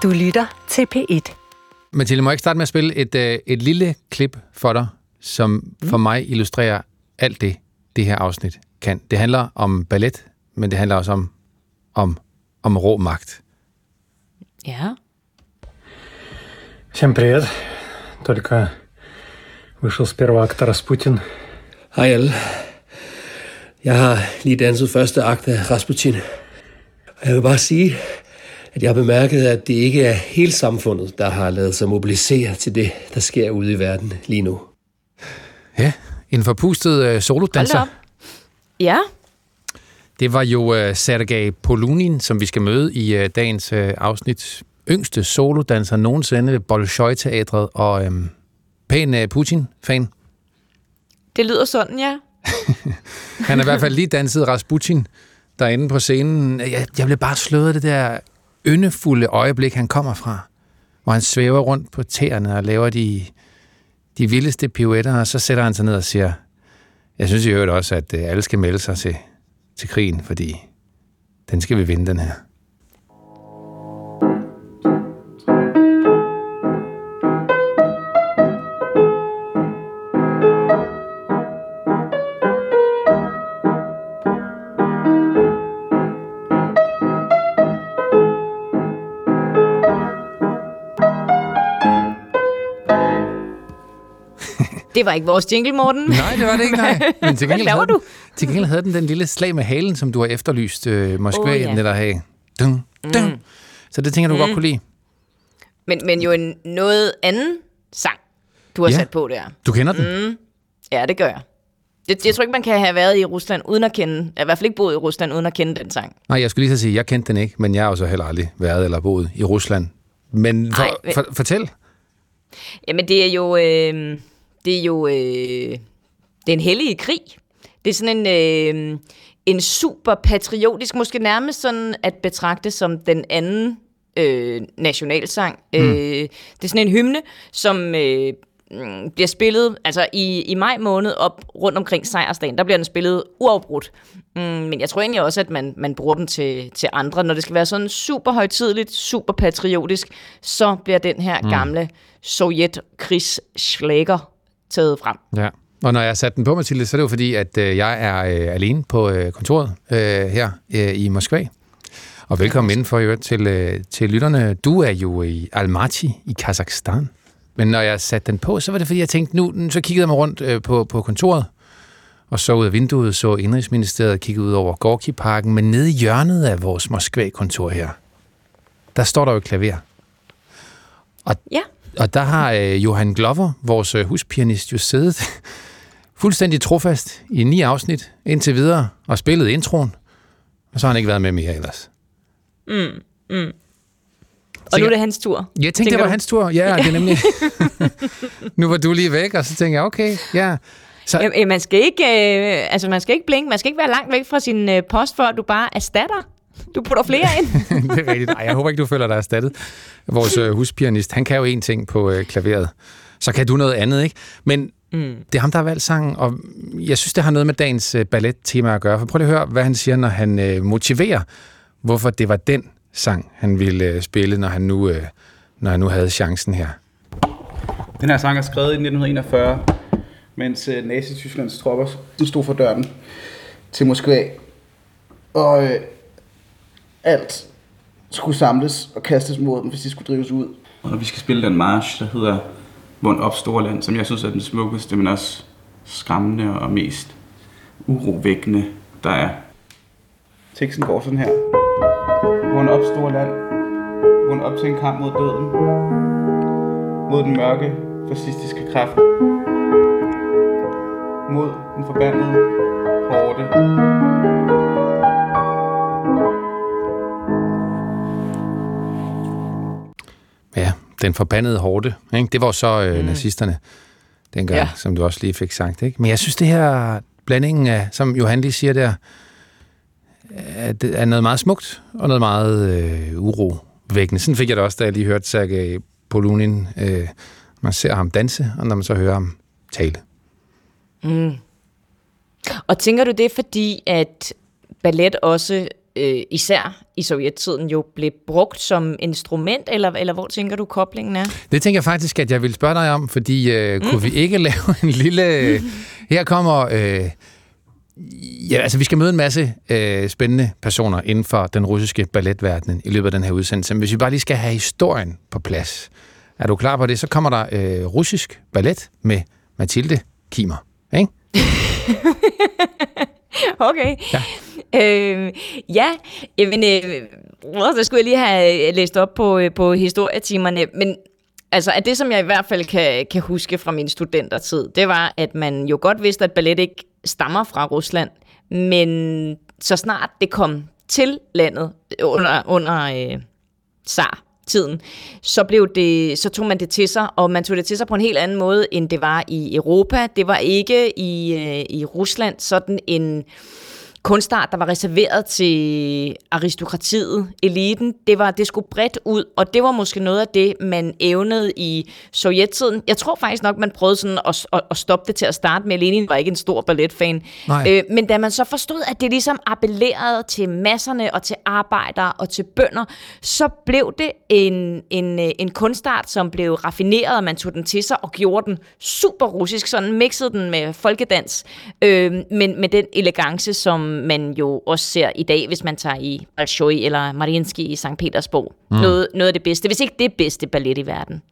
Du lytter til P1. Mathilde, må jeg ikke starte med at spille et lille klip for dig, som for mig illustrerer alt det her afsnit kan. Det handler om ballet, men det handler også om rå magt. Ja. Всем привет. Только вышел с первого акта Распутин. Hej alle. Jeg har lige danset første akt af Rasputin. Og jeg vil bare sige, at jeg har bemærket, at det ikke er hele samfundet, der har lavet sig mobilisere til det, der sker ude i verden lige nu. Ja, en forpustet solodanser. Ja. Det var jo Sergej Polunin, som vi skal møde i dagens afsnit. Yngste solodanser nogensinde ved Bolshoi-teatret, og pæn Putin-fan. Det lyder sådan, ja. Han har i hvert fald lige danset Rasputin derinde på scenen. Jeg blev bare slået af det der yndefulde øjeblik, han kommer fra, hvor han svæver rundt på tæerne og laver de vildeste pirouetter, og så sætter han sig ned og siger, jeg synes i øvrigt også, at alle skal melde sig til krigen, fordi den skal vi vinde, den her. Det var ikke vores jingle, Morten. Nej, det var det ikke, nej. Men til Hvad laver du? Til gengæld havde den lille slag med halen, som du har efterlyst Moskva, den der have. Dun, dun. Så det tænker du godt kunne lide. Men jo en noget anden sang, du har sat på der. Du kender den? Ja, det gør jeg. Jeg tror ikke, man kan have været i Rusland uden at kende, i hvert fald ikke boet i Rusland uden at kende den sang. Nej, jeg skulle lige så sige, jeg kendte den ikke, men jeg har jo så heller aldrig været eller boet i Rusland. Men fortæl. Jamen, det er en hellig krig. Det er sådan en super patriotisk, måske nærmest sådan at betragte som den anden nationalsang. Det er sådan en hymne, som bliver spillet altså i maj måned op rundt omkring sejrsdagen. Der bliver den spillet uafbrudt. Men jeg tror egentlig også, at man bruger den til andre. Når det skal være sådan super højtideligt, super patriotisk, så bliver den her gamle sovjetkrigsschlager taget frem. Ja. Og når jeg satte den på, Mathilde, så er det jo fordi, at jeg er alene på kontoret her i Moskva. Og velkommen indenfor til lytterne. Du er jo i Almaty i Kazakhstan. Men når jeg satte den på, så var det fordi, jeg tænkte, nu så kiggede jeg mig rundt på kontoret, og så ud af vinduet, så Indrigsministeriet kiggede ud over Gorki-parken, men nede i hjørnet af vores Moskva-kontor her, der står der jo et klaver. Og der har Johan Glover, vores huspianist, jo siddet fuldstændig trofast i 9 afsnit indtil videre, og spillet introen, og så har han ikke været med mere ellers. Og nu er det hans tur. Jeg tænkte, det var hans tur. Ja, det er nemlig. Nu var du lige væk, og så tænkte jeg, okay, ja. Så... Man skal ikke blinke, man skal ikke være langt væk fra sin post, for at du bare erstatter. Du putter flere ind. Det er rigtigt. Ej, jeg håber ikke, du føler dig erstattet. Vores huspianist, han kan jo én ting på klaveret. Så kan du noget andet, ikke? Men det er ham, der har valgt sangen, og jeg synes, det har noget med dagens ballet-tema at gøre. For prøv lige at høre, hvad han siger, når han motiverer, hvorfor det var den sang, han ville spille, når han nu havde chancen her. Den her sang er skrevet i 1941, mens Nazi-Tysklands tropper stod for døren til Moskva. Og alt skulle samles og kastes mod dem, hvis de skulle drives ud. Og vi skal spille den march, der hedder Vund op Storland, som jeg synes er den smukkeste, men også skræmmende og mest urovækkende, der er. Teksten går sådan her. Vund op Storland. Vund op til en kamp mod døden. Mod den mørke, fascistiske kraft. Mod den forbandede horde. Ja, den forbandede horde. Ikke? Det var så nazisterne dengang, som du også lige fik sagt. Ikke? Men jeg synes, det her blandingen af, som Johan lige siger der, er noget meget smukt og noget meget urovækkende. Sådan fik jeg det også, da jeg lige hørte Sergej Polunin. Man ser ham danse, og når man så hører ham tale. Og tænker du det, fordi at ballet også især i sovjettiden jo blev brugt som instrument, eller hvor tænker du koblingen er? Det tænker jeg faktisk, at jeg vil spørge dig om, fordi kunne vi ikke lave en lille... Her kommer... vi skal møde en masse spændende personer inden for den russiske balletverden i løbet af den her udsendelse. Men hvis vi bare lige skal have historien på plads, er du klar på det? Så kommer der russisk ballet med Mathilde Kiemer, ikke? Okay. Ja. Så skulle jeg lige have læst op på historietimerne, men altså, at det, som jeg i hvert fald kan huske fra min studentertid, det var, at man jo godt vidste, at ballet ikke stammer fra Rusland, men så snart det kom til landet under tsar-tiden, så tog man det til sig, og man tog det til sig på en helt anden måde, end det var i Europa. Det var ikke i Rusland sådan en kunstart, der var reserveret til aristokratiet, eliten. Det skulle bredt ud, og det var måske noget af det, man evnede i sovjettiden. Jeg tror faktisk nok, man prøvede sådan at stoppe det til at starte med. Lenin var ikke en stor balletfan. Men da man så forstod, at det ligesom appellerede til masserne og til arbejdere og til bønder, så blev det en kunstart, som blev raffineret, og man tog den til sig og gjorde den super russisk, sådan mixede den med folkedans, men med den elegance, som man jo også ser i dag, hvis man tager i Bolshoi eller Mariinsky i Sankt Petersborg. Noget af det bedste, hvis ikke det bedste ballet i verden.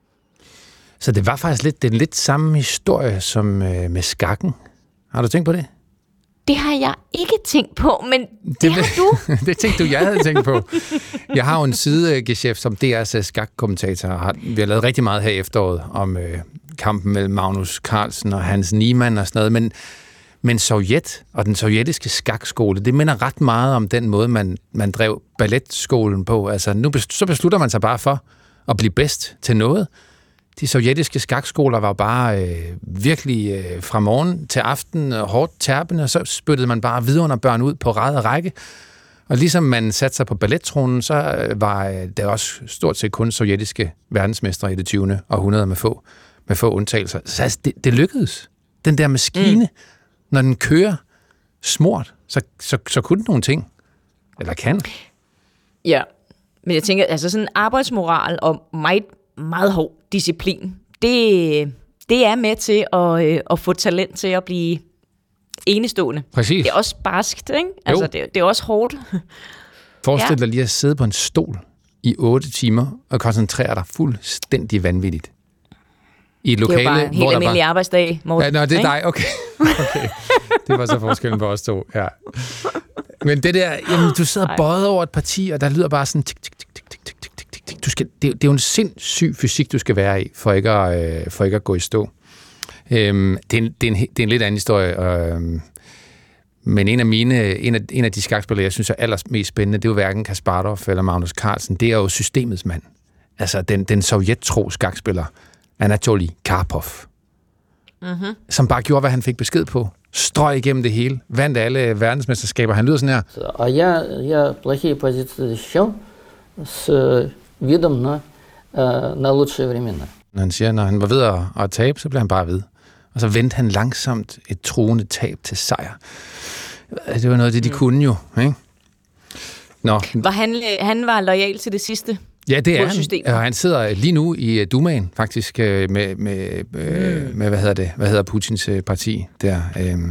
Så det var faktisk lidt samme historie som med skakken. Har du tænkt på det? Det har jeg ikke tænkt på, men det har du. Det tænkte du, jeg havde tænkt på. Jeg har jo en sidegeschæft som DR's skakkommentator. Vi har lavet rigtig meget her i efteråret om kampen mellem Magnus Carlsen og Hans Niemann og sådan noget, men Sovjet og den sovjetiske skakskole, det minder ret meget om den måde, man drev balletskolen på. Altså, så beslutter man sig bare for at blive bedst til noget. De sovjetiske skakskoler var bare virkelig fra morgen til aften hårdt tærpende, og så spyttede man bare vidunderbørn ud på rad og række. Og ligesom man satte sig på ballettronen, så var der også stort set kun sovjetiske verdensmestre i det 20. århundrede med få undtagelser. Så altså, det lykkedes. Den der maskine, når den kører smurt, så kunne den nogle ting. Eller kan. Ja, men jeg tænker, altså sådan en arbejdsmoral og meget, meget hård disciplin, det er med til at få talent til at blive enestående. Præcis. Det er også barskt, ikke? Altså, det er også hårdt. Forestil dig lige at sidde på en stol i 8 timer og koncentrere dig fuldstændig vanvittigt. I et lokale, det er jo bare en helt almindelig arbejdsdag, Morten. Ja, det er dig, okay. Det var så forskellen på os to, ja. Men det der, jamen, du sidder bøjet over et parti, og der lyder bare sådan tik, tik, tik, tik, tik, tik, tik, tik, tik. Det er jo en sindssyg fysik, du skal være i, for ikke at gå i stå. Det er en lidt anden historie, men en af de skakspillere, jeg synes er allermest spændende, det er jo hverken Kasparov eller Magnus Carlsen. Det er jo systemets mand. Altså den sovjettro skakspiller, Anatoly Karpov, som bare gjorde, hvad han fik besked på. Strøg igennem det hele. Vandt alle verdensmesterskaber. Han lyder sådan her. А я плохие позиции защищал с видом на лучшие времена. Han siger, når han var ved at tabe, så blev han bare ved. Og så vendte han langsomt et truende tab til sejr. Det var noget af det, de kunne jo, ikke? Nå. Han var loyal til det sidste. Ja, det er han. Og han sidder lige nu i Dumaen, faktisk, med hvad hedder Putins parti der?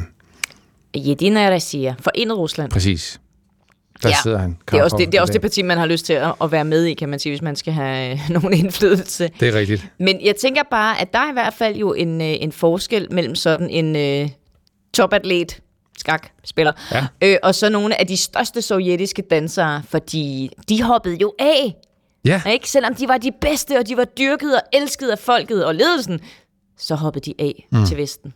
Jedina Rossiya, Forenet Rusland. Præcis. Der sidder han. Det er også det parti, man har lyst til at være med i, kan man sige, hvis man skal have nogen indflydelse. Det er rigtigt. Men jeg tænker bare, at der er i hvert fald jo en forskel mellem sådan en topatlet, skakspiller, og så nogle af de største sovjetiske dansere, fordi de hoppede jo af. Ja. Ikke? Selvom de var de bedste, og de var dyrket og elsket af folket og ledelsen, så hoppede de af til Vesten.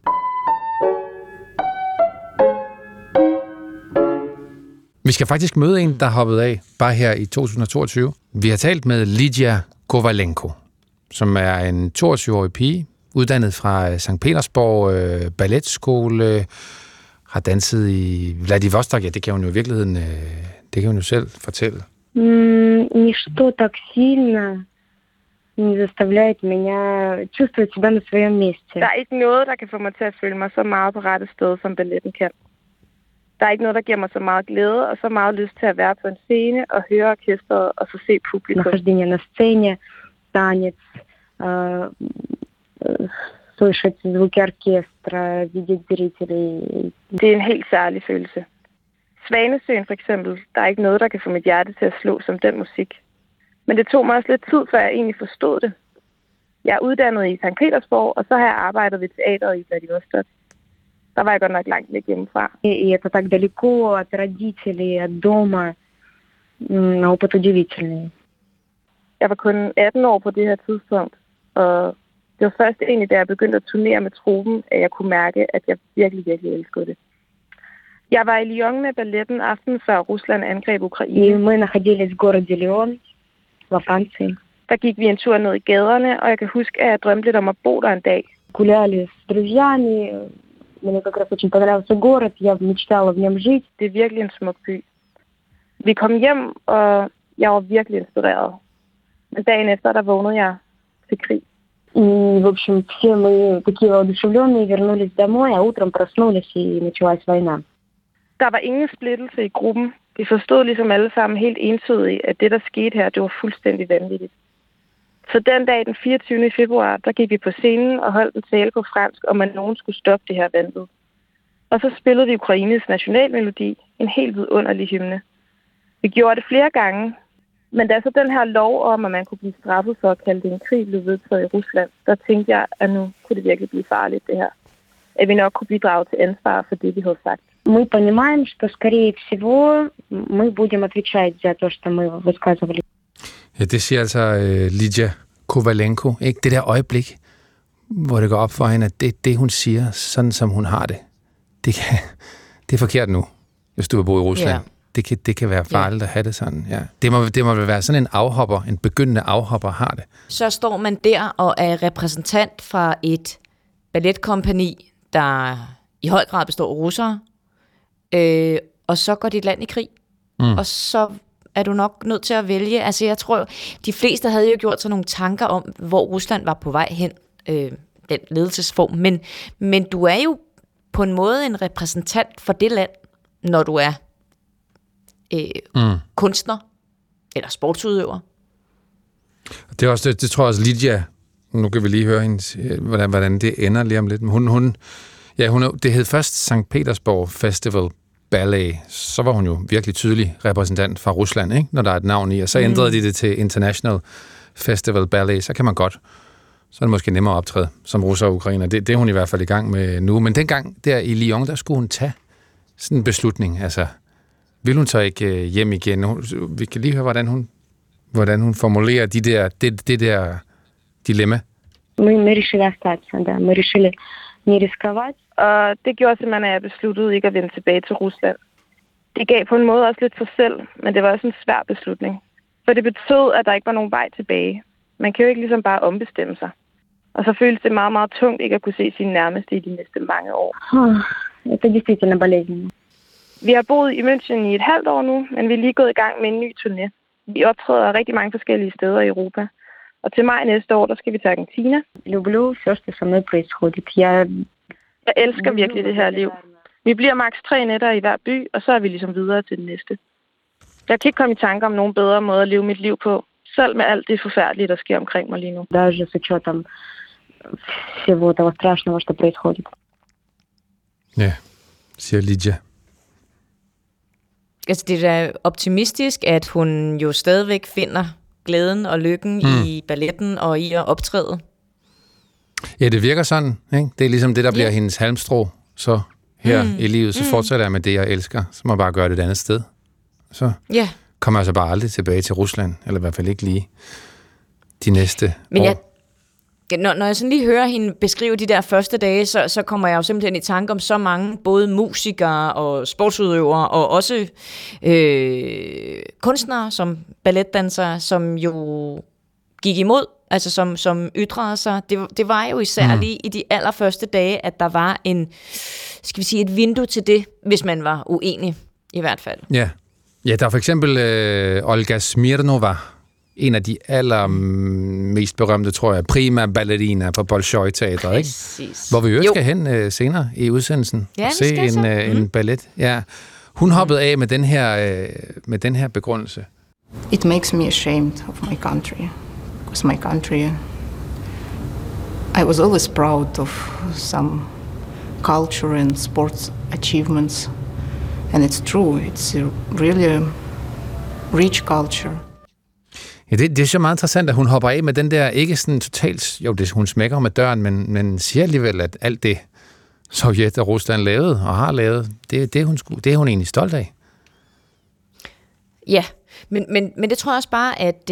Vi skal faktisk møde en, der hoppede af, bare her i 2022. Vi har talt med Lydia Kovalenko, som er en 22-årig pige, uddannet fra Sankt Petersborg balletskole, har danset i Vladivostok. Ja, det kan hun jo i virkeligheden, det kan hun jo selv fortælle. Ничто так сильно не заставляет меня чувствовать себя на своем месте. Der er ikke noget, der kan få mig til at føle mig så meget på rette sted, som balletten kan. Der er ikke noget, der giver mig så meget glæde og så meget lyst til at være på en scene og høre orkestret og så se publikum. Нахождение на сцене, танец, слышать звуки оркестра, видеть зрителей. Det er en helt særlig følelse. Svanesøen for eksempel, der er ikke noget, der kan få mit hjerte til at slå som den musik. Men det tog mig også lidt tid, før jeg egentlig forstod det. Jeg er uddannet i St. Petersborg, og så har jeg arbejdet ved teateret i Vladivostok. Der var jeg godt nok langt væk hjemmefra. И это так далеко от родителей, от дома. Опыт удивительный. Jeg var kun 18 år på det her tidspunkt, og det var først egentlig, da jeg begyndte at turnere med truppen, at jeg kunne mærke, at jeg virkelig, virkelig elskede det. Jeg var i Lyon med balletten aftenen før Rusland angreb Ukraine. Мы находились в городе Лион, во Франции. Der gik vi en tur ned i gaderne, og jeg kan huske, at jeg drømte lidt om at bo der en dag. Гуляли с друзьями. Мне как раз очень понравился город. Я мечтала в нем жить. Det er virkelig en smuk by. Vi kom hjem, og jeg var virkelig inspireret. Men dagen efter, der vågnede jeg til krig. И, в общем, все мы такие воодушевленные вернулись домой, а утром проснулись, и началась война. Der var ingen splittelse i gruppen. Vi forstod ligesom alle sammen helt entydigt, at det, der skete her, det var fuldstændig vanvittigt. Så den dag, den 24. februar, der gik vi på scenen og holdt en tale på fransk, om at nogen skulle stoppe det her vanvid. Og så spillede vi Ukraines nationalmelodi, en helt vidunderlig hymne. Vi gjorde det flere gange, men da så den her lov om, at man kunne blive straffet for at kalde det en krig, blev vedtaget i Rusland, der tænkte jeg, at nu kunne det virkelig blive farligt, det her. At vi nok kunne bidrage til ansvar for det, vi havde sagt. Мы понимаем, что, скорее всего, мы будем отвечать за то, что мы высказывали. Ja, det siger altså Lydia Kovalenko. Ikke? Det der øjeblik, hvor det går op for hende, at det hun siger, sådan som hun har det, det er forkert nu, hvis du vil bo i Rusland. Yeah. Det kan være farligt at have det sådan. Ja. Det må vel være sådan en afhopper, en begyndende afhopper har det. Så står man der og er repræsentant fra et balletkompagni, der i høj grad består af russere, og så går dit land i krig. Og så er du nok nødt til at vælge. Altså jeg tror, de fleste havde jo gjort sig nogle tanker om, hvor Rusland var på vej hen, den ledelsesform. Men du er jo på en måde en repræsentant for det land, når du er kunstner eller sportsudøver. Det er også det tror jeg også Lydia. Nu kan vi lige høre hendes, hvordan det ender lige om lidt. Det hed først St. Petersborg Festival Ballet. Så var hun jo virkelig tydelig repræsentant fra Rusland, ikke? Når der er et navn i. Og så ændrede de det til International Festival Ballet. Så kan man godt. Så er det måske nemmere at optræde som russer og ukrainer. Det er hun i hvert fald i gang med nu. Men dengang der i Lyon, der skulle hun tage sådan en beslutning. Altså, vil hun så ikke hjem igen? Vi kan lige høre, hvordan hun formulerer det der dilemma. Мы решили остаться, да. Мы решили не рисковать. Og det gjorde simpelthen, at jeg besluttede ikke at vende tilbage til Rusland. Det gav på en måde også lidt sig selv, men det var også en svær beslutning. For det betød, at der ikke var nogen vej tilbage. Man kan jo ikke ligesom bare ombestemme sig. Og så føles det meget, meget tungt ikke at kunne se sine nærmeste i de næste mange år. Det er действительно болезненно. Vi har boet i München i et halvt år nu, men vi er lige gået i gang med en ny turné. Vi optræder rigtig mange forskellige steder i Europa. Og til maj næste år, der skal vi til Argentina. Люблю все, что со мной происходит. Jeg elsker virkelig det her liv. Vi bliver maks 3 nætter i hver by, og så er vi ligesom videre til den næste. Jeg kan ikke komme i tanke om nogen bedre måde at leve mit liv på, selv med alt det forfærdelige, der sker omkring mig lige nu. Даже с учетом всего того страшного, что происходит. Ja, siger Lydia. Altså det er da optimistisk, at hun jo stadigvæk finder glæden og lykken i balletten og i at optræde. Ja, det virker sådan. Ikke? Det er ligesom det, der bliver hendes halmstrå. Så her i livet, så fortsætter jeg med det, jeg elsker. Så må jeg bare gøre det et andet sted. Så kommer jeg så bare aldrig tilbage til Rusland. Eller i hvert fald ikke lige de næste år. Når jeg sådan lige hører hende beskrive de der første dage, så kommer jeg jo simpelthen i tanke om så mange, både musikere og sportsudøvere, og også kunstnere som balletdansere, som jo gik imod, altså som ytrede sig. Det var jo især lige i de allerførste dage, at der var et vindue til det, hvis man var uenig, i hvert fald. Ja, der er for eksempel Olga Smirnova, en af de allermest berømte, tror jeg, prima ballerina på Bolshoi-teatret, ikke? Hvor vi jo skal hen senere i udsendelsen og se en ballet. Ja. Hun hoppede af med den her begrundelse. It makes me ashamed of my country, because my country, I was always proud of some culture and sports achievements, and it's true, it's a really rich culture. Ja, det er så meget interessant, at hun hopper af med den der, ikke sådan totalt, jo, hun smækker med døren, men siger alligevel, at alt det, Sovjet og Rusland lavede og har lavet, det er hun egentlig stolt af. Ja, men det tror jeg også bare, at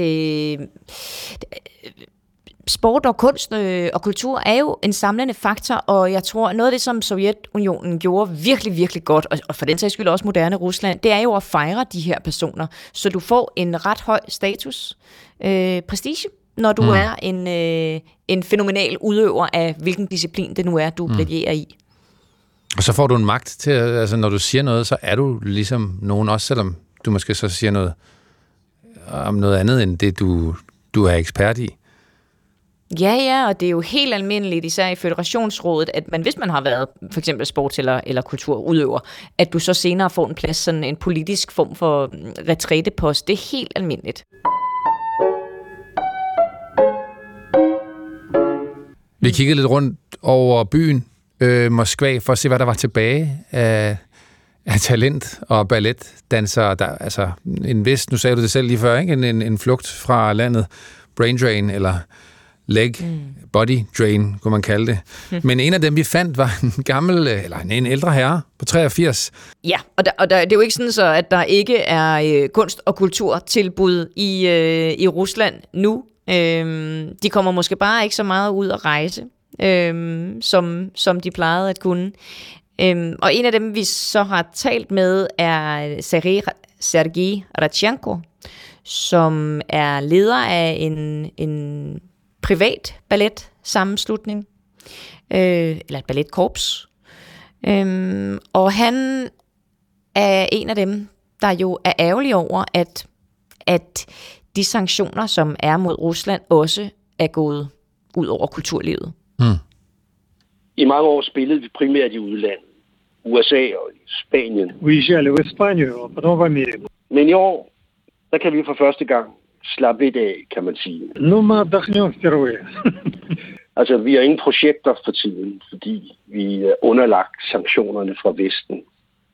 sport og kunst og kultur er jo en samlende faktor, og jeg tror, noget af det, som Sovjetunionen gjorde virkelig, virkelig godt, og for den sags skyld også moderne Rusland, det er jo at fejre de her personer, så du får en ret høj status, prestige, når du er en fænomenal udøver af hvilken disciplin det nu er, du briljerer i. Og så får du en magt til, altså når du siger noget, så er du ligesom nogen også, selvom du måske så siger noget om noget andet, end det du er ekspert i. Ja, og det er jo helt almindeligt, især i Føderationsrådet, at hvis man har været for eksempel sports- eller kulturudøver, at du så senere får en plads, sådan en politisk form for retrætepost. Det er helt almindeligt. Vi kiggede lidt rundt over byen Moskva for at se, hvad der var tilbage af talent og balletdansere. Der, altså en vis, nu sagde du det selv lige før, ikke? En flugt fra landet, brain drain eller body drain, kunne man kalde det. Men en af dem, vi fandt, var en gammel, eller en ældre herre på 83. Ja, og det er jo ikke sådan så, at der ikke er kunst- og kulturtilbud i Rusland nu. De kommer måske bare ikke så meget ud at rejse, som de plejede at kunne. Og en af dem, vi så har talt med, er Sergej Radchenko, som er leder af en privat balletsammenslutning, eller et balletkorps. Og han er en af dem, der jo er ærgerlig over, at de sanktioner, som er mod Rusland, også er gået ud over kulturlivet. I mange år spillede vi primært i udlandet. USA og Spanien. Уезжали в Испанию, а потом в Америку. Men i år, der kan vi for første gang slappe lidt af, kan man sige. Ну, мы отдохнем впервые. Altså, vi har ingen projekter for tiden, fordi vi er underlagt sanktionerne fra Vesten.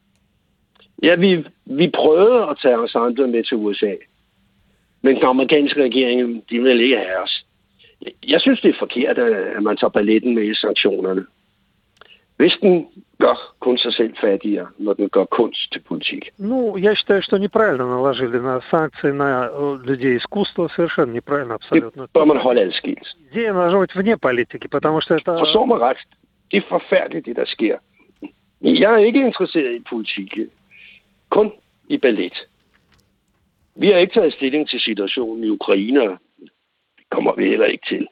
Ja, vi prøvede at tage os andre med til USA, men den amerikanske regering, de vil ikke have os. Jeg synes, det er forkert, at man tager balletten med i sanktionerne. Vesten gør kun sig selv fattigere, når den gør kunst til politik. Ну, я считаю, что неправильно наложили на санкции на людей искусства. Совершенно неправильно, абсолютно. Det bør man holde adskilt. Идея должна быть вне политики, потому что это... Forstår mig ret. Det er forfærdeligt, det der sker. Jeg er ikke interesseret i politik. Kun i ballet. Vi har ikke taget stilling til situationen i Ukraine. Det kommer vi heller ikke til.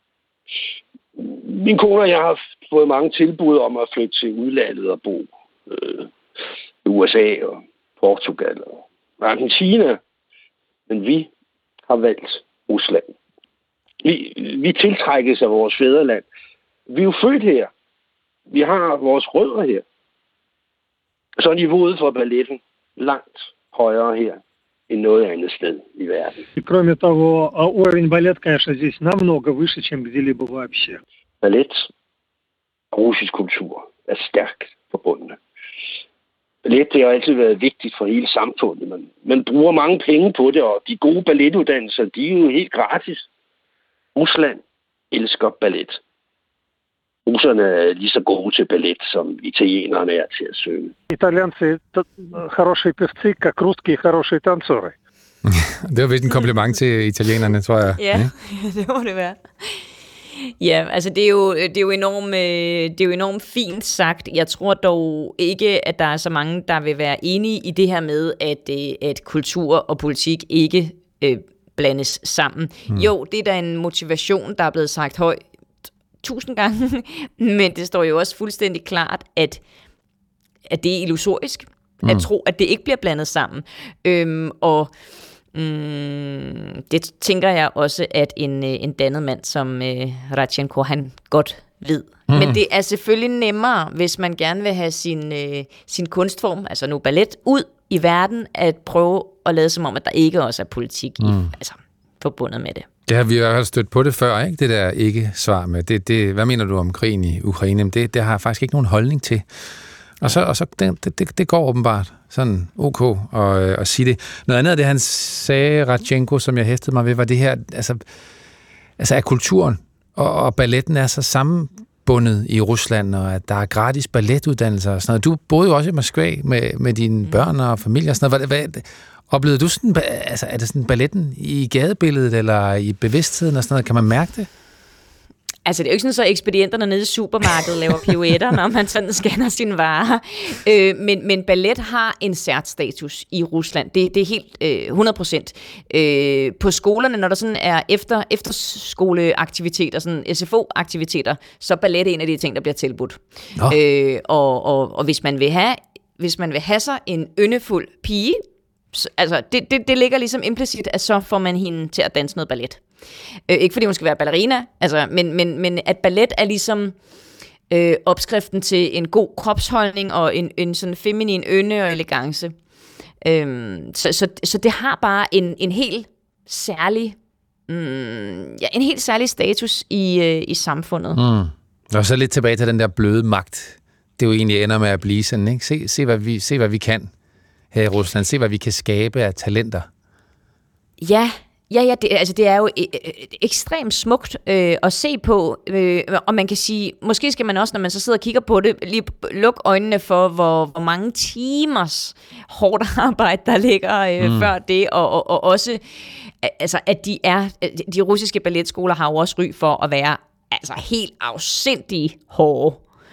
Min kone og jeg har fået mange tilbud om at flytte til udlandet og bo i USA og Portugal og Argentina. Men vi har valgt Rusland. Vi tiltrækkes af vores fædreland. Vi er jo født her. Vi har vores rødder her. Så er niveauet for balletten langt højere her end noget andet sted i verden. И кроме того, уровень балет, конечно, здесь намного выше, чем где-либо вообще. Ballet og russisk kultur er stærkt forbundne. Ballet det har altid været vigtigt for hele samfundet. Man bruger mange penge på det, og de gode balletuddannelser, de er jo helt gratis. Rusland elsker ballet. Russerne er lige så gode til ballet, som italienerne er til at synge. Итальянцы хорошие певцы, как русские хорошие танцоры. Det var vist en kompliment til italienerne, tror jeg. Ja, det må det være. Ja, altså det er jo enormt fint sagt. Jeg tror dog ikke, at der er så mange, der vil være enige i det her med, at kultur og politik ikke blandes sammen. Jo, det er da en motivation, der er blevet sagt højt 1000 gange, men det står jo også fuldstændig klart, at det er illusorisk at tro, at det ikke bliver blandet sammen. Og Det tænker jeg også, at en dannet mand som Radchenko, han godt ved. Men det er selvfølgelig nemmere, hvis man gerne vil have sin kunstform, altså nu ballet, ud i verden, at prøve at lade som om, at der ikke også er politik forbundet med det. Det har vi i hvert fald stødt på det før, ikke? Det der ikke-svar med. Hvad mener du om krigen i Ukraine? Det har jeg faktisk ikke nogen holdning til. Og så det går åbenbart sådan ok at sige det. Noget andet af det, han sagde, Radchenko, som jeg hæftede mig ved, var det her, altså at kulturen og balletten er så sammenbundet i Rusland, og at der er gratis balletuddannelser og sådan noget. Du boede jo også i Moskva med dine børn og familie og sådan noget. Oplevede du sådan, altså er det sådan balletten i gadebilledet eller i bevidstheden og sådan noget? Kan man mærke det? Altså, det er jo ikke sådan, så ekspedienterne nede i supermarkedet laver pirouetter, når man sådan scanner sine varer. Men ballet har en særstatus i Rusland. Det er helt 100%. På skolerne, når der sådan er efterskoleaktiviteter, sådan SFO-aktiviteter, så er ballet en af de ting, der bliver tilbudt. Og hvis man vil have sig en yndefuld pige, altså det ligger ligesom implicit, at så får man hende til at danse noget ballet. Ikke fordi hun skal være ballerina, altså, men at ballet er ligesom opskriften til en god kropsholdning og en sådan feminin ynde og elegance. Så det har bare en helt særlig en helt særlig status i samfundet. Og så lidt tilbage til den der bløde magt. Det jo egentlig ender med at blive sådan, ikke? Se hvad vi kan her i Rusland. Se, hvad vi kan skabe af talenter. Ja, det er jo ekstremt smukt at se på, og man kan sige, måske skal man også, når man så sidder og kigger på det, lige lukke øjnene for, hvor mange timers hårdt arbejde, der ligger før det, og også, altså, at de russiske balletskoler har jo også ry for at være altså helt afsindig hårde.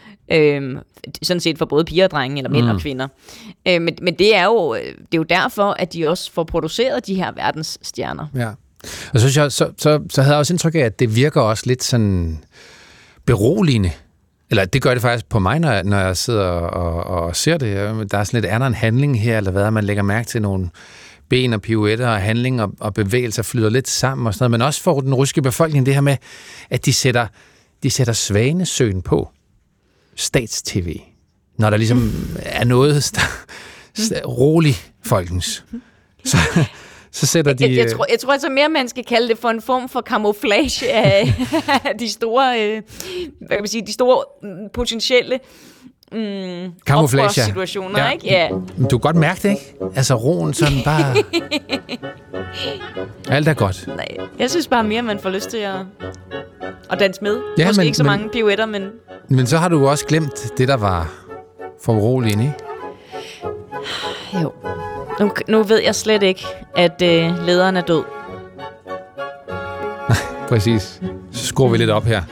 Sådan set for både piger og drenge, eller mænd og kvinder. Men det er jo derfor, at de også får produceret de her verdensstjerner. Ja. Og så havde jeg også indtryk af, at det virker også lidt sådan beroligende. Eller det gør det faktisk på mig, når jeg sidder og ser det. Der er sådan lidt andet en handling her, eller hvad, man lægger mærke til nogle ben og pirouetter og handling og bevægelser flyder lidt sammen og sådan noget. Men også for den russiske befolkning, det her med, at de sætter Svanesøen på stats-tv, når der ligesom er noget rolig folkens. Så sætter de... Jeg tror altså mere, man skal kalde det for en form for camouflage af de store, hvad kan man sige, de store potentielle oprørssituationer, ja. Ikke? Ja. Du kan godt mærke det, ikke? Altså roen sådan bare... Alt er godt. Nej, jeg synes bare mere, man får lyst til at danse med. Ja, måske ikke så mange pirouetter, men... Men så har du også glemt det, der var for uroligende, ikke? Jo. Nu ved jeg slet ikke, at lederen er død. Nej, præcis. Så skruer vi lidt op her.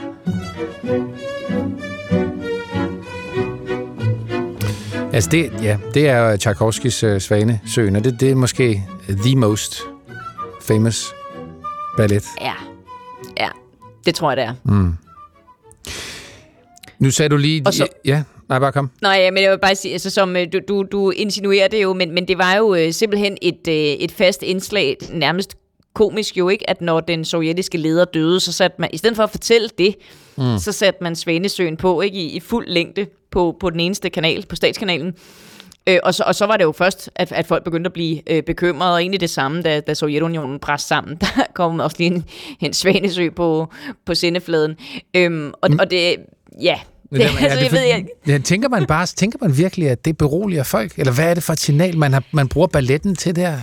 Altså det er Tchaikovskys Svanesøen, og det er måske the most famous ballet. Ja, det tror jeg, det er. Nu sagde du lige... Nej, bare kom. Nej, men jeg vil bare sige, altså, som du insinuerer det jo, men det var jo simpelthen et fast indslag, nærmest komisk jo, ikke, at når den sovjetiske leder døde, så satte man, i stedet for at fortælle det, så satte man Svanesøen på, ikke, i fuld længde på den eneste kanal, på statskanalen. Og så var det jo først, at folk begyndte at blive bekymrede, og egentlig det samme, da Sovjetunionen brast sammen. Der kom også lige en Svanesø på sendefladen. Og det, ja... Tænker man virkelig, at det beroliger folk? Eller hvad er det for et signal, man bruger balletten til der?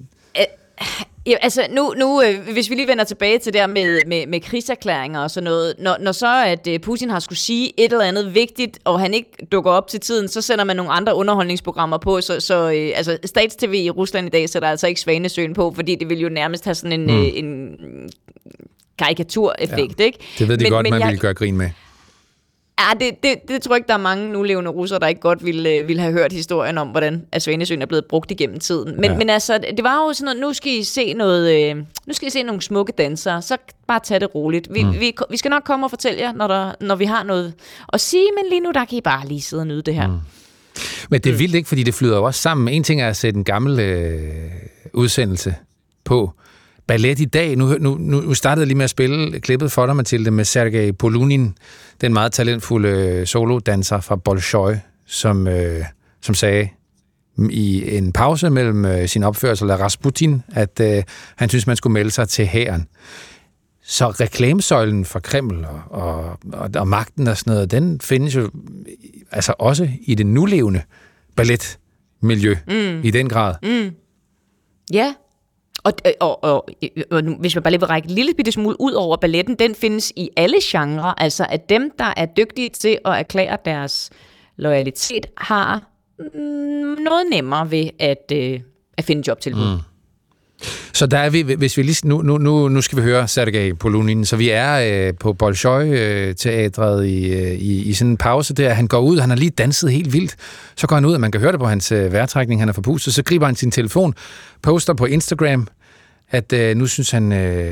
Altså nu hvis vi lige vender tilbage til der med krigserklæringer og sådan noget, når så at Putin har skulle sige et eller andet vigtigt, og han ikke dukker op til tiden, så sender man nogle andre underholdningsprogrammer på, så altså stats-tv i Rusland i dag sætter altså ikke Svanesøen på, fordi det vil jo nærmest have sådan en karikatureffekt, ikke? Det ved de godt, man vil gøre grin med. Ja, det tror jeg ikke, der er mange nulevende russere, der ikke godt ville have hørt historien om, hvordan Svanesøen er blevet brugt igennem tiden. Men altså, det var jo sådan noget, nu skal I se nogle smukke dansere, så bare tag det roligt. Vi skal nok komme og fortælle jer, når vi har noget at sige, men lige nu, der kan I bare lige sidde og nyde det her. Men det er vildt ikke, fordi det flyder jo også sammen. En ting er at sætte en gammel udsendelse på ballet i dag. Nu startede jeg lige med at spille klippet for dig, Mathilde, med Sergej Polunin, den meget talentfulde solodanser fra Bolshoi, som sagde i en pause mellem sin opførsel af Rasputin, at han synes, man skulle melde sig til hæren. Så reklamesøjlen for Kreml og magten og sådan noget, den findes jo altså også i det nulevende balletmiljø i den grad. Ja, og hvis man bare lige vil række en lille bitte smule ud over balletten, den findes i alle genrer. Altså at dem, der er dygtige til at erklære deres loyalitet, har noget nemmere ved at finde jobtilbud. Så der er vi, hvis vi lige, nu skal vi høre Sergej Polunin, så vi er på Bolshoi-teatret i sådan en pause der. Han går ud, han har lige danset helt vildt. Så går han ud, og man kan høre det på hans vejrtrækning, han er forpustet. Så griber han sin telefon, poster på Instagram, at nu synes han,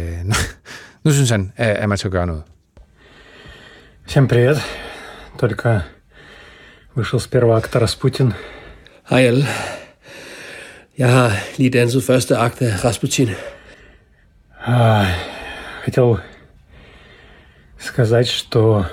at man skal gøre noget. Всем привет. Только вышел с первого акта Распутин. Hej alle. Jeg har lige danset første akt af Rasputin. Хотел сказать, что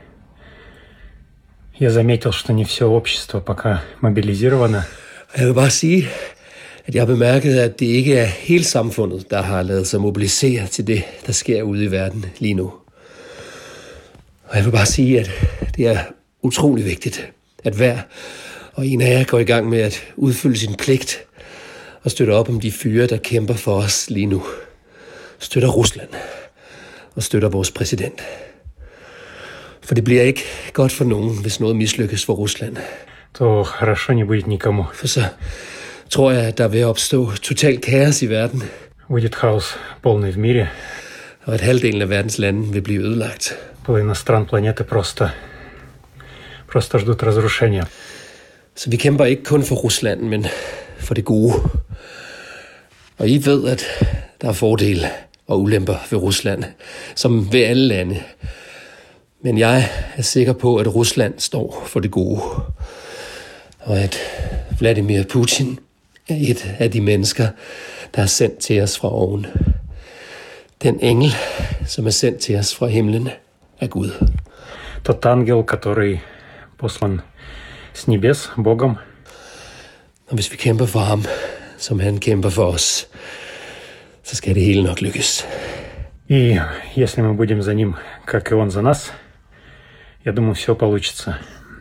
я заметил, что не все общество пока мобилизировано. Jeg vil bare sige, at jeg har bemærket, at det ikke er hele samfundet, der har ladet sig mobilisere til det, der sker ude i verden lige nu. Og jeg vil bare sige, at det er utrolig vigtigt, at hver og en af jer går i gang med at udfylde sin pligt og støtter op om de fyre, der kæmper for os lige nu. Støtter Rusland og støtter vores præsident. For det bliver ikke godt for nogen, hvis noget mislykkes for Rusland. То хорошо не будет никому. For så tror jeg, at der vil opstå total kaos i verden. Будет хаос полный в мире. Og at halvdelen af verdens lande vil blive ødelagt. Половина стран планеты просто ждут разрушения. Så vi kæmper ikke kun for Rusland, men for det gode. Og I ved, at der er fordele og ulemper ved Rusland, som ved alle lande. Men jeg er sikker på, at Rusland står for det gode. Og at Vladimir Putin er et af de mennesker, der er sendt til os fra oven. Den engel, som er sendt til os fra himlen, er Gud. Тот ангел, который послан с небес Богом. Og hvis vi kæmper for ham, som han kæmper for os, så skal det hele nok lykkes. И если мы будем за ним, как и он за нас, я думаю, все получится.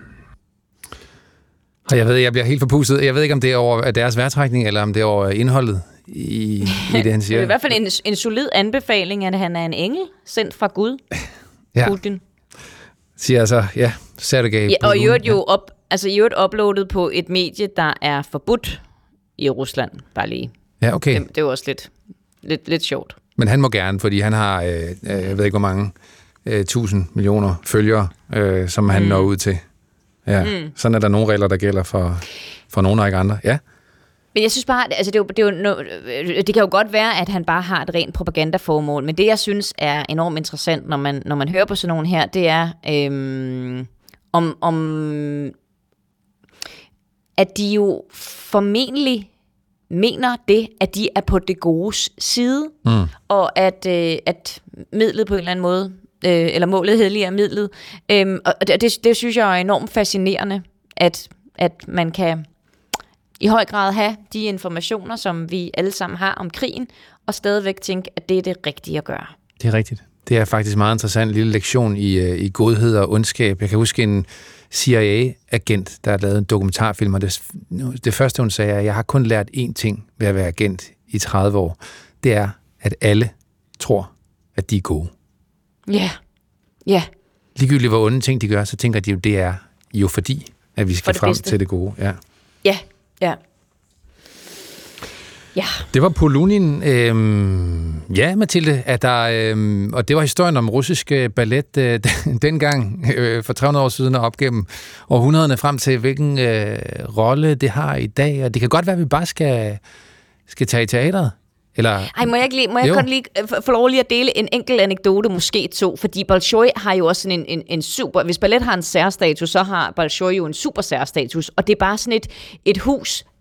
Og jeg bliver helt forpustet. Jeg ved ikke, om det er over deres vejrtrækning, eller om det er over indholdet i det, han siger. Det er i hvert fald en solid anbefaling, at han er en engel, sendt fra Gud. Ja. Putin. Siger altså, ja, Sergej. Ja, og i øvrigt uploadet på et medie, der er forbudt i Rusland, bare lige. Ja, okay. Det er jo også lidt sjovt. Men han må gerne, fordi han har, jeg ved ikke hvor mange, 1000 millioner følgere, som han når ud til. Ja, sådan er der nogle regler, der gælder for nogle og ikke andre. Ja. Men jeg synes bare, altså det kan jo godt være, at han bare har et rent propagandaformål, men det, jeg synes er enormt interessant, når man hører på sådan nogen her, det er, om at de jo formentlig mener det, at de er på det godes side, og at midlet på en eller anden måde, eller målet helliger midlet. Og det synes jeg er enormt fascinerende, at man kan i høj grad have de informationer, som vi alle sammen har om krigen, og stadigvæk tænke, at det er det rigtige at gøre. Det er rigtigt. Det er faktisk meget interessant lille lektion i godhed og ondskab. Jeg kan huske en CIA-agent, der har lavet en dokumentarfilm, og det første, hun sagde, er, at jeg har kun lært én ting ved at være agent i 30 år. Det er, at alle tror, at de er gode. Ja. Ja. Ligegyldigt hvor onde ting de gør, så tænker de jo, det er jo fordi, at vi skal frem bedste. Til det gode. Ja. Ja, ja. Ja. Det var Polunin. Ja, Mathilde, at der, og det var historien om russisk ballet dengang for 300 år siden og op gennem århundrederne frem til, hvilken rolle det har i dag. Og det kan godt være, at vi bare skal tage i teateret. Eller... Ej, må jeg kun lige få lov lige at dele en enkelt anekdote, måske to, fordi Bolshoi har jo også sådan en super... Hvis ballet har en særstatus, så har Bolshoi jo en super særstatus, og det er bare sådan et hus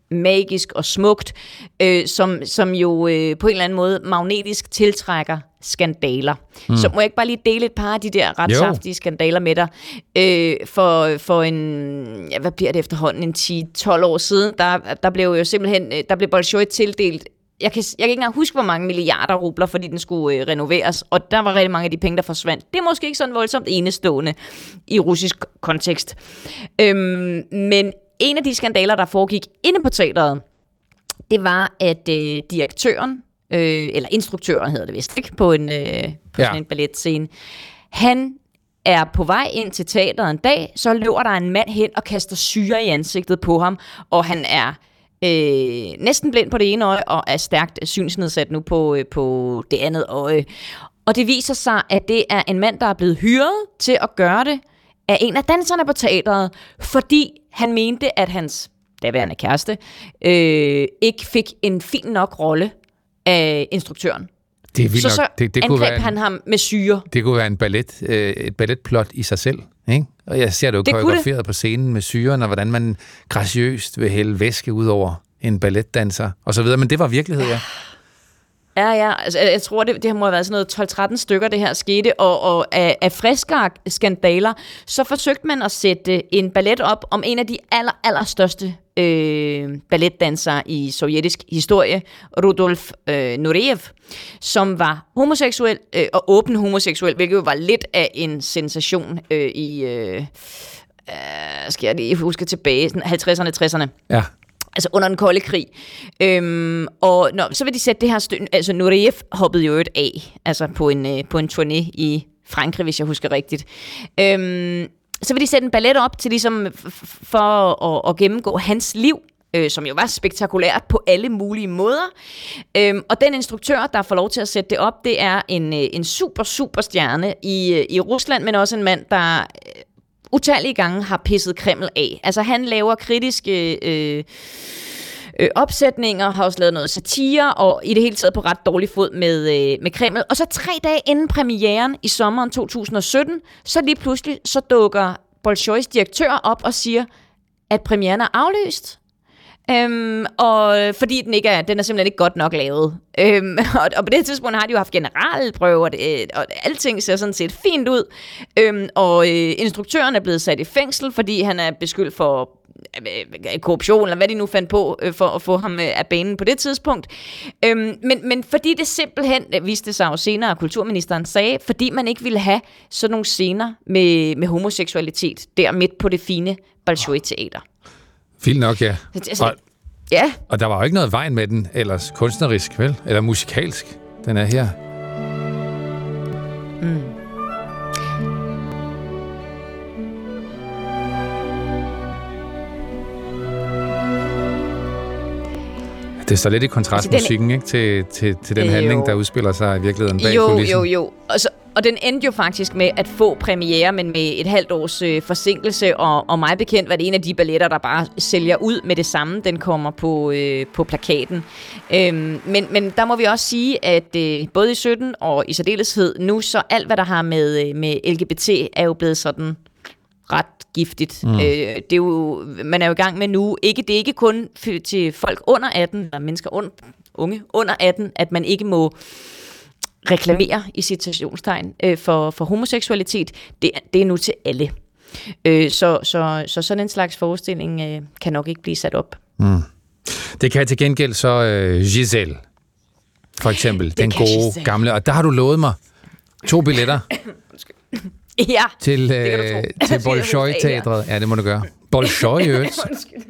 magisk og smukt, som jo på en eller anden måde magnetisk tiltrækker skandaler. Så må jeg ikke bare lige dele et par af de der ret saftige skandaler med dig. For en, hvad bliver det efterhånden, en 10-12 år siden, der blev jo simpelthen, der blev Bolshoi tildelt, jeg kan ikke engang huske, hvor mange milliarder rubler, fordi den skulle renoveres, og der var rigtig mange af de penge, der forsvandt. Det er måske ikke sådan voldsomt enestående i russisk kontekst. Men en af de skandaler, der foregik inde på teateret, det var, at direktøren, eller instruktøren hedder det vist, ikke? På sådan en balletscene, han er på vej ind til teateret en dag, så løber der en mand hen og kaster syre i ansigtet på ham, og han er næsten blind på det ene øje, og er stærkt synsnedsat nu på det andet øje. Og det viser sig, at det er en mand, der er blevet hyret til at gøre det af en af danserne på teateret, fordi han mente, at hans daværende kæreste ikke fik en fin nok rolle af instruktøren. Det er vildt nok. Så det angreb kunne være han ham med syre. Det kunne være et balletplot i sig selv, ikke? Og jeg ser det jo koreograferet på scenen med syren, og hvordan man graciøst vil hælde væske ud over en balletdanser, og så videre. Men det var virkelighed, ja. Ja. Altså, jeg tror, det må have været sådan noget 12-13 stykker, det her skete, og af friske skandaler, så forsøgte man at sætte en ballet op om en af de allerstørste balletdansere i sovjetisk historie, Rudolf Nureyev, som var homoseksuel og åben homoseksuel, hvilket jo var lidt af en sensation skal jeg lige huske tilbage, 50'erne, 60'erne. Ja. Altså under den kolde krig. Så vil de sætte det her altså Nureyev hoppede jo et af, altså på en turné i Frankrig, hvis jeg husker rigtigt. Så vil de sætte en ballet op til ligesom for at gennemgå hans liv, som jo var spektakulært på alle mulige måder. Og den instruktør, der får lov til at sætte det op, det er en super stjerne i Rusland, men også en mand, der utallige gange har pisset Kreml af. Altså han laver kritiske opsætninger, har også lavet noget satire, og i det hele taget på ret dårlig fod med Kreml. Og så 3 dage inden premieren i sommeren 2017, så lige pludselig så dukker Bolshois direktør op og siger, at premieren er aflyst. Og fordi den er simpelthen ikke godt nok lavet. Og på det tidspunkt har de jo haft generalprøver, og alting ser sådan set fint ud. Og instruktøren er blevet sat i fængsel, fordi han er beskyldt for korruption, eller hvad de nu fandt på, for at få ham af banen på det tidspunkt. Men fordi det simpelthen, viste sig jo senere, at kulturministeren sagde, fordi man ikke ville have sådan nogle scener med homoseksualitet der midt på det fine Bolshoi-teater. Vildt nok, ja. Ja. Og der var jo ikke noget vejen med den, ellers kunstnerisk, vel? Eller musikalsk. Den er her. Det står lidt i kontrast musikken, ikke? Til den handling, der udspiller sig i virkeligheden bag kulissen. Jo. Og den endte jo faktisk med at få premiere, men med et halvt års forsinkelse, og mig bekendt var det en af de balletter, der bare sælger ud med det samme. Den kommer på plakaten. Men der må vi også sige, at både i 17 og i særdeleshed nu, så alt hvad der har med LGBT er jo blevet sådan ret giftigt. Det er jo, man er jo i gang med nu. Det er ikke kun til folk under 18, eller mennesker unge under 18, at man ikke må reklamere i citationstegn for homoseksualitet. Det er nu til alle. Så sådan en slags forestilling kan nok ikke blive sat op. Det kan til gengæld så Giselle, for eksempel, den gode Giselle. Gamle. Og der har du lovet mig 2 billetter. Ja, til Bolshoi-teatret. Ja, det må du gøre. Bolshoi, i øvrigt.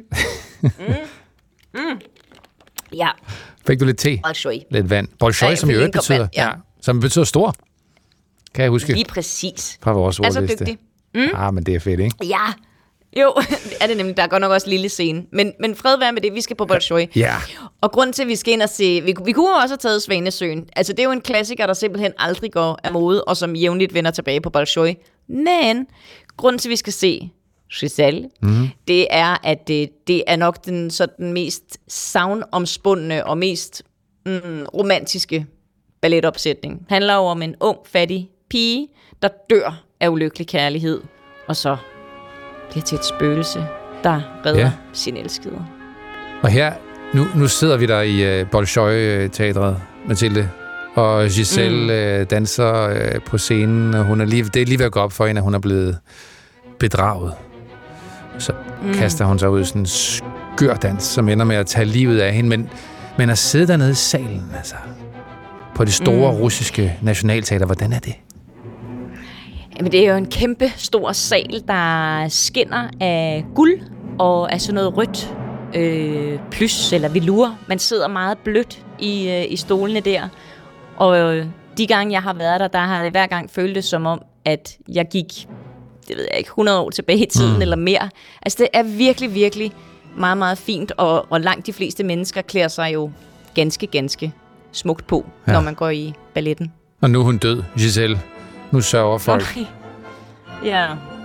Ja. Fik du lidt te? Bolshoi. Lidt vand. Bolshoi, som i øvrigt betyder, som betyder stor. Kan jeg huske? Lige præcis. Fra vores ordliste. Altså dygtig. Men det er fedt, ikke? Ja. Jo, er det nemlig. Der er godt nok også lille scene. Men fred være med det, vi skal på Bolshoi. Ja. Og grunden til, at vi skal ind og se... Vi kunne også have taget Svanesøen. Altså, det er jo en klassiker, der simpelthen aldrig går af mode, og som jævnligt vender tilbage på Bolshoi. Men grunden til, at vi skal se Giselle, det er, at det er nok den mest savnomspundne og mest romantiske balletopsætning. Det handler jo om en ung, fattig pige, der dør af ulykkelig kærlighed, og så bliver til et spøgelse, der redder sin elskede. Og her, nu sidder vi der i Bolshoi-teatret, Mathilde, og Giselle danser på scenen, og det er lige ved at gå op for hende, at hun er blevet bedraget. Så kaster hun sig ud i sådan en skør dans, som ender med at tage livet af hende, men at sidde dernede i salen, altså, på det store russiske nationalteater, hvordan er det? Jamen, det er jo en kæmpe stor sal, der skinner af guld og af sådan noget rødt plys eller velur. Man sidder meget blødt i stolene der. Og de gange, jeg har været der har det hver gang føltes som om, at jeg gik, det ved jeg ikke, 100 år tilbage i tiden eller mere. Altså, det er virkelig, virkelig meget, meget fint, og langt de fleste mennesker klæder sig jo ganske, ganske smukt på, når man går i balletten. Og nu er hun død, Giselle. Nu sørger folk. Okay. Ja.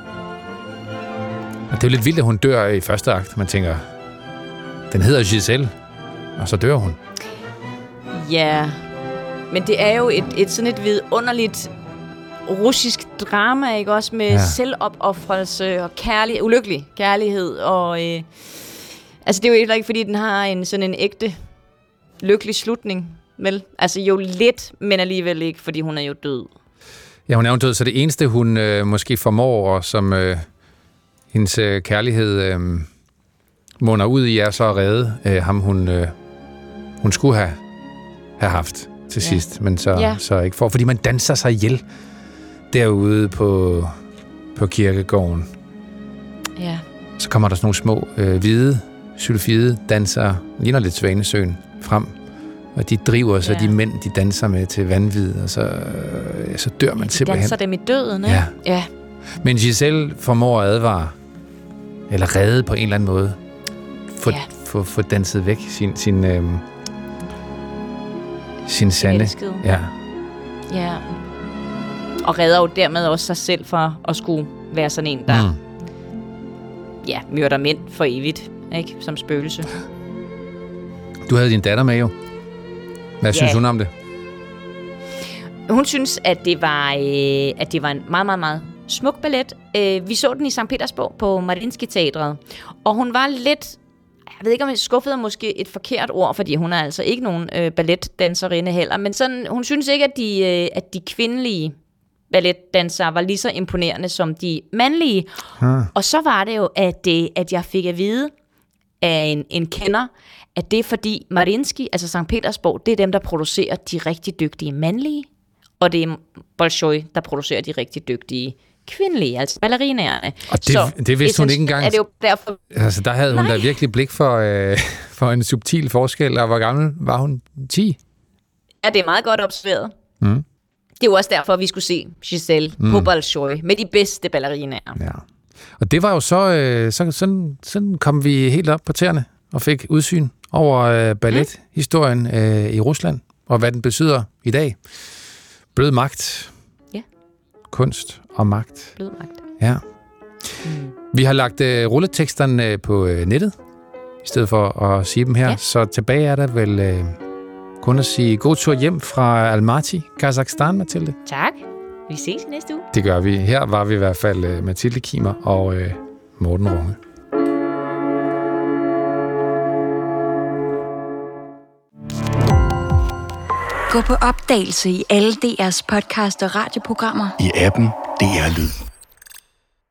Og det er jo lidt vildt, at hun dør i første akt. Man tænker, den hedder Giselle, og så dør hun. Ja, men det er jo sådan et vidunderligt russisk drama, ikke også? Med selvopoffrelse og ulykkelig kærlighed. Og, altså, det er jo heller ikke, fordi den har sådan en ægte lykkelig slutning, vel? Altså jo lidt, men alligevel ikke, fordi hun er jo død. Ja, hun er jo død, så det eneste, hun måske formår, og som hendes kærlighed munder ud i, er så at redde ham, hun skulle have haft til sidst, men så ikke for, fordi man danser sig ihjel derude på kirkegården. Ja. Så kommer der sådan nogle små hvide, sylfide dansere, ligner lidt Svanesøen, frem, og de driver så de mænd, de danser med til vanvid, og så dør man simpelthen. Danser dem i døden, ikke? Ja. Men Giselle formår at advare, eller redde på en eller anden måde, få danset væk sin sande. Ja. Og redder jo dermed også sig selv fra at skulle være sådan en, der myrder mænd for evigt, ikke? Som spøgelse. Du havde din datter med jo. Hvad synes hun om det? Hun synes, at det var en meget, meget, meget smuk ballet. Vi så den i St. Petersborg på Mariinsky Teatret, og hun var lidt, jeg ved ikke om jeg skuffede måske et forkert ord, fordi hun er altså ikke nogen balletdanserinde heller, men sådan, hun synes ikke, at de kvindelige balletdansere var lige så imponerende som de mandlige. Og så var det jo, at jeg fik at vide af en kender, at det er fordi Mariinsky, altså St. Petersborg, det er dem, der producerer de rigtig dygtige mandlige, og det er Bolshoi, der producerer de rigtig dygtige kvindelige, altså ballerinaerne. Og det vidste hun ikke engang. Er det jo derfor... Altså, der havde hun da virkelig blik for en subtil forskel, og hvor gammel var hun? 10? Ja, det er meget godt observeret. Det er jo også derfor, vi skulle se Giselle på Bolshoi med de bedste ballerinaer. Ja. Og det var jo sådan kom vi helt op på tæerne og fik udsyn over ballethistorien i Rusland, og hvad den betyder i dag. Blød magt. Ja. Kunst og magt. Blød magt. Ja. Vi har lagt rulleteksterne på nettet, i stedet for at sige dem her. Ja. Så tilbage er der vel kun at sige god tur hjem fra Almaty, Kazakhstan, Mathilde. Tak. Vi ses i næste uge. Det gør vi. Her var vi i hvert fald Mathilde Kimer og Morten Runge. Gå på opdagelse i alle DR's podcast og radioprogrammer. I appen DR Lyd.